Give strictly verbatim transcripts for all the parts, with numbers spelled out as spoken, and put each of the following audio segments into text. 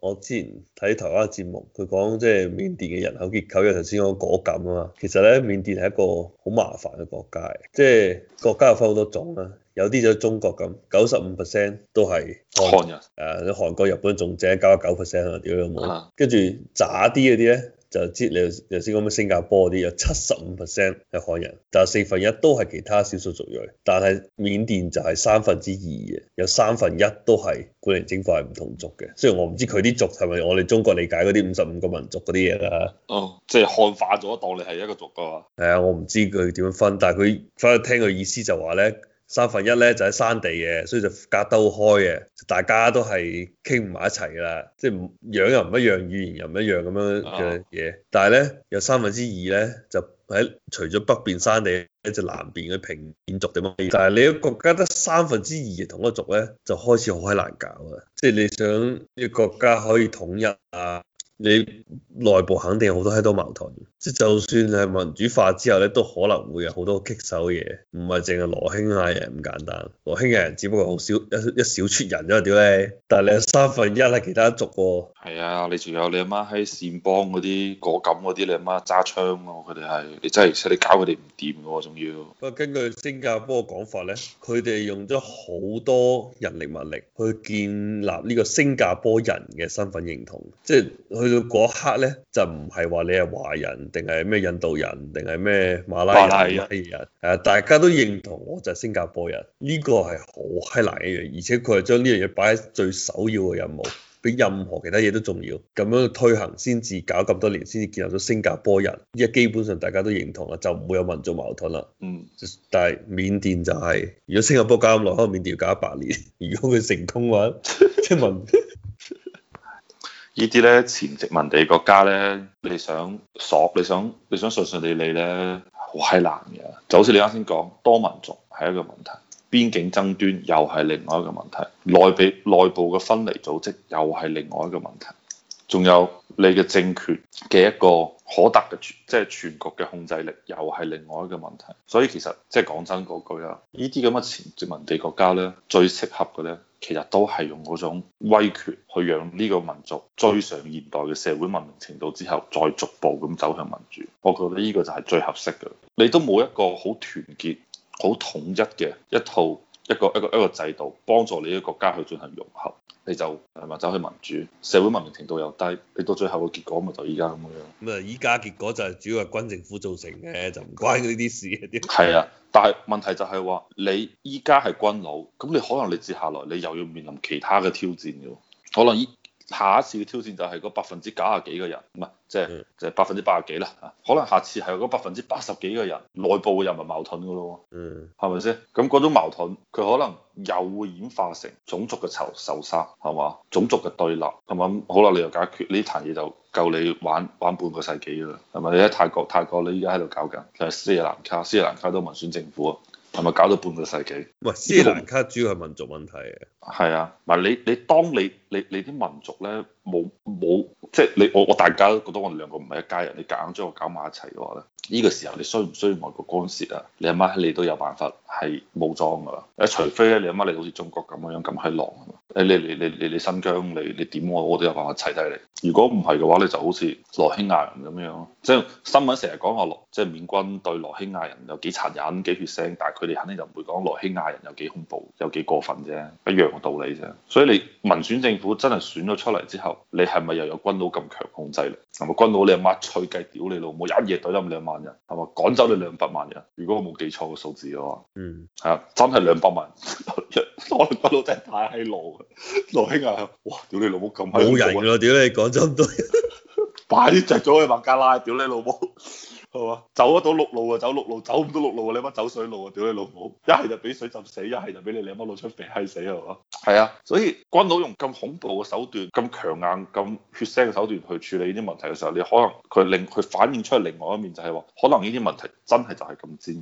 我之前睇台灣嘅節目，佢講即係緬甸嘅人口結構，因為頭先講果敢啊嘛。其實咧，緬甸係一個好麻煩嘅國家嚟，即係國家有分好多種啦。有啲就中國咁，九十五 percent 都係漢人， 誒，你韓國、日本仲正九十九 percent 啊，屌你老母！ 啊跟住渣啲嗰啲咧，就知你頭先講咩新加坡嗰啲有七十五 percent 係漢人，但係四分一都係其他少數族裔。但係緬甸就係三分之二嘅，有三分一都係古靈精怪唔同族嘅。雖然我唔知佢啲族係咪我哋中國理解嗰啲五十五個民族嗰啲嘢啦。 哦，即係漢化咗當你係一個族噶嘛？ 係啊，我唔知佢點樣分，但係佢翻去聽佢意思就話咧。三分一咧就喺山地嘅，所以就隔得好開嘅，大家都係傾唔埋一齊噶啦，即係唔樣又唔一樣，語言又唔一樣咁樣嘅嘢。啊、但係咧有三分之二咧就喺除咗北邊山地咧，就南邊嘅平面族點樣？但係你個國家得三分之二嘅同一個族咧，就開始好閪難搞啊！即係你想呢個國家可以統一啊？你內部肯定有好多閪多矛盾，即係就算係民主化之後咧，都可能會有好多棘手嘢，唔係淨係羅興亞人咁簡單。羅興亞人只不過好少一一小撮人啫，屌你！但係你有三分一係其他族喎。 係啊，你仲有你阿媽喺善邦嗰啲果敢嗰啲，你阿媽揸槍喎，佢哋係你真係你搞佢哋唔掂嘅喎，仲要。 不過根據新加坡嘅講法咧，佢哋用咗好多人力物力去建立呢個新加坡人嘅身份認同，即係去到嗰一刻咧，就唔係話你係華人定係咩印度人定係咩馬拉人、拉人，誒大家都認同我就係新加坡人，呢個係好閪難一樣，而且佢係將呢樣嘢擺喺最首要嘅任務。比任何其他嘢都重要，咁樣推行先至搞咁多年，先至建立咗新加坡人。依家基本上大家都認同啦，就唔會有民族矛盾啦。 嗯， 但係緬甸就係、是，如果新加坡搞咁耐，可能緬甸要搞一百年。如果佢成功嘅話，即係民呢啲咧前殖民地國家咧，你想索，你想你想順順利利咧，好閪難嘅。就好似你啱先講，多民族係一個問題。邊境爭端又係另外一個問題，內部內部嘅分離組織又係另外一個問題，仲有你嘅政權嘅一個可達嘅即係全局嘅控制力又係另外一個問題。所以其實即係講真嗰句啊，呢啲咁嘅前殖民地國家咧，最適合嘅咧，其實都係用嗰種威權去讓呢個民族追上現代嘅社會文明程度之後，再逐步咁走向民主。我覺得呢個就係最合適嘅。你都冇一個好團結好統一嘅一套一個一個一個制度，幫助你嘅國家去進行融合，你就係咪走去民主，社會文明程度又低，你到最後嘅結果咪就依家咁樣。 咁啊，依家結果就係主要係軍政府造成嘅，就唔關呢啲事嘅。 係啊，但係問題就係話你依家係軍佬，咁你可能你接下來你又要面臨其他嘅挑戰嘅，可能依。下一次嘅挑戰就係嗰百分之九十幾嘅人，唔係即係即係百分之八十幾啦嚇。可能下次係嗰百分之八十幾嘅人內部嘅人民矛盾嘅咯，嗯，係咪先？咁嗰種矛盾佢可能又會演化成種族嘅仇仇殺，係嘛？種族嘅對立，係嘛？好啦，你又解決呢壇嘢就夠你玩玩半個世紀㗎啦，係咪？你喺泰國，泰國你依家喺度搞緊，就係斯里蘭卡，斯里蘭卡都民選政府啊。係咪搞到半個世紀？ 喂，斯里蘭卡主要係民族問題嘅。係啊，唔係你你當你你你啲民族咧冇冇即係你我我大家都覺得我哋兩個唔係一家人，你夾硬將我搞埋一齊嘅話咧，呢個時候你需唔需要外國干涉啊？你阿媽喺你都有辦法係武裝㗎啦。誒，除非咧你阿媽你好似中國咁樣咁閪狼啊嘛。誒，你你你你你新疆你你點我我都有辦法砌低你。如果唔係嘅話，你就好似羅興亞人咁樣，即係新聞成日講話羅即係緬軍對羅興亞人有幾殘忍幾血腥，但係佢哋肯定就唔會講羅興亞人有幾恐怖有幾過分啫，一樣嘅道理啫。所以你民選政府真係選咗出嚟之後，你係咪又有軍佬咁強控制力？係咪軍佬你阿媽吹雞屌你老母，一夜懟冧兩萬人，係咪趕走你兩百萬人？如果我冇記錯個數字嘅話，嗯，係啊，真係兩百萬人，可能軍佬真係太閪狼。羅興亞，哇！屌你老母咁閪冇人㗎咯，屌你講咗咁多， 快啲着咗去孟加拉，屌你老母！係嘛？走得到陸路啊，走陸路；走唔到陸路啊，你媽走水路啊！屌你老母！一係就俾水浸死，一係就俾你你媽攞出肥閪死係嘛？係啊，所以軍佬用咁恐怖嘅手段、咁強硬、咁血腥嘅手段去處理呢啲問題嘅時候，你可能佢令佢反映出嚟另外一面就係話，可能呢啲問題真係就係咁尖鋭。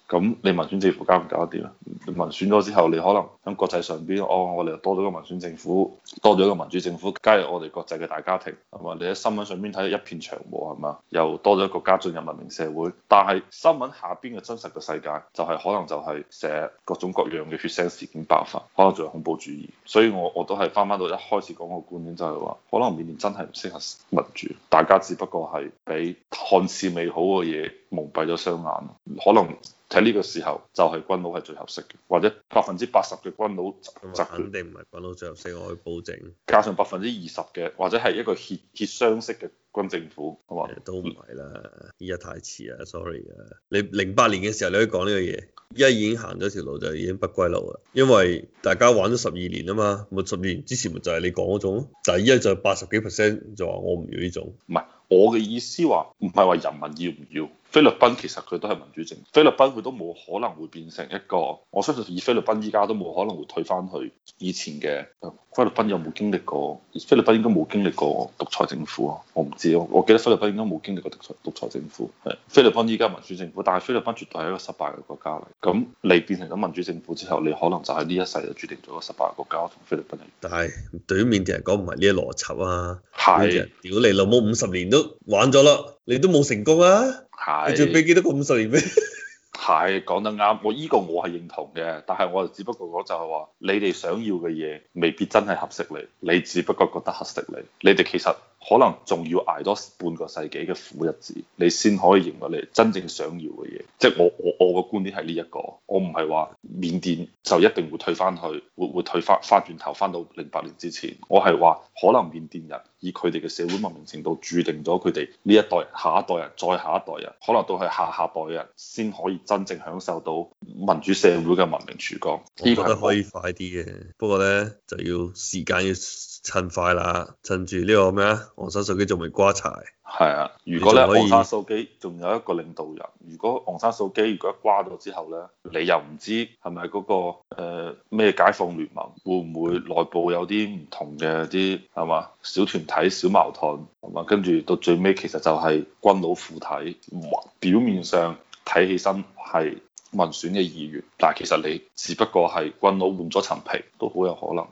咁你民選政府搞唔搞得掂啊？民選咗之後，你可能喺國際上邊，哦，我哋又多咗個民選政府，多咗一個民主政府加入我哋國際嘅大家庭，係嘛？你喺新聞上邊睇到一片祥和，係嘛？又多咗一個家進入文明社會，但係新聞下邊嘅真實嘅世界就係、是、可能就係成日各種各樣嘅血腥事件爆發，可能仲有恐怖主義。所以我我都係翻翻到一開始講個觀點，就係話，可能緬甸真係唔適合民主，大家只不過係俾看似美好嘅嘢蒙蔽咗雙眼，可能。喺呢個時候就係軍佬係最合適嘅，或者百分之八十嘅軍佬就肯定唔係軍佬最合適，我可以保證。 加上百分之二十嘅，或者係一個協協商式嘅軍政府，係嘛？ 都唔係啦，依家太遲啦，sorry 啊！你零八年嘅時候你可以講呢個嘢，依家已經行咗條路就已經不歸路啦，因為大家玩咗十二年啊嘛，咪十二年之前咪就係你講嗰種，但係依家就八十幾 percent 就話我唔要呢種。 唔係，我嘅意思話唔係話人民要唔要。菲律賓其實佢都係民主政府，菲律賓佢都冇可能會變成一個，我相信以菲律賓依家都冇可能會退翻去以前嘅。菲律賓有冇經歷過？菲律賓應該冇經歷過獨裁政府啊，我唔知，我我記得菲律賓應該冇經歷過獨裁獨裁政府。係菲律賓依家民主政府，但係菲律賓絕對係一個失敗嘅國家嚟。咁你變成咗民主政府之後，你可能就喺呢一世就注定咗個失敗嘅國家同菲律賓一樣。 但係對於緬甸人講唔係呢個邏輯啊， 係是屌你老母五十年都玩咗啦，你都冇成功啊！ 係， 你仲俾幾多個五十年咩？ 係講得啱，我依個我係認同嘅，但係我就只不過講就係話，你哋想要嘅嘢未必真係合適你，你只不過覺得合適你，你哋其實可能仲要捱多半個世紀嘅苦日子，你先可以認為你真正想要嘅嘢。即係我我我個觀點係呢一個，我唔係話緬甸就一定會退翻去，會會退翻翻轉頭翻到零八年之前，我係話可能緬甸人以佢哋嘅社會文明程度，注定咗佢哋呢一代人、下一代人、再下一代人，可能都係下下代人先可以真正享受到民主社會嘅文明曙光。 我覺得可以快啲嘅，不過咧就要時間要趁快啦，趁住呢個咩啊，昂山素姬仲未瓜柴。係啊，如果咧昂山素姬仲有一個領導人，如果昂山素姬如果一瓜咗之後咧，你又唔知係咪嗰個咩、呃、解放聯盟會唔會內部有啲唔同嘅啲係嘛小團體小矛盾係嘛，跟住到最尾其實就係軍佬附體，表面上睇起身係民選嘅議員，但係其實你只不過係軍佬換咗層皮，都好有可能。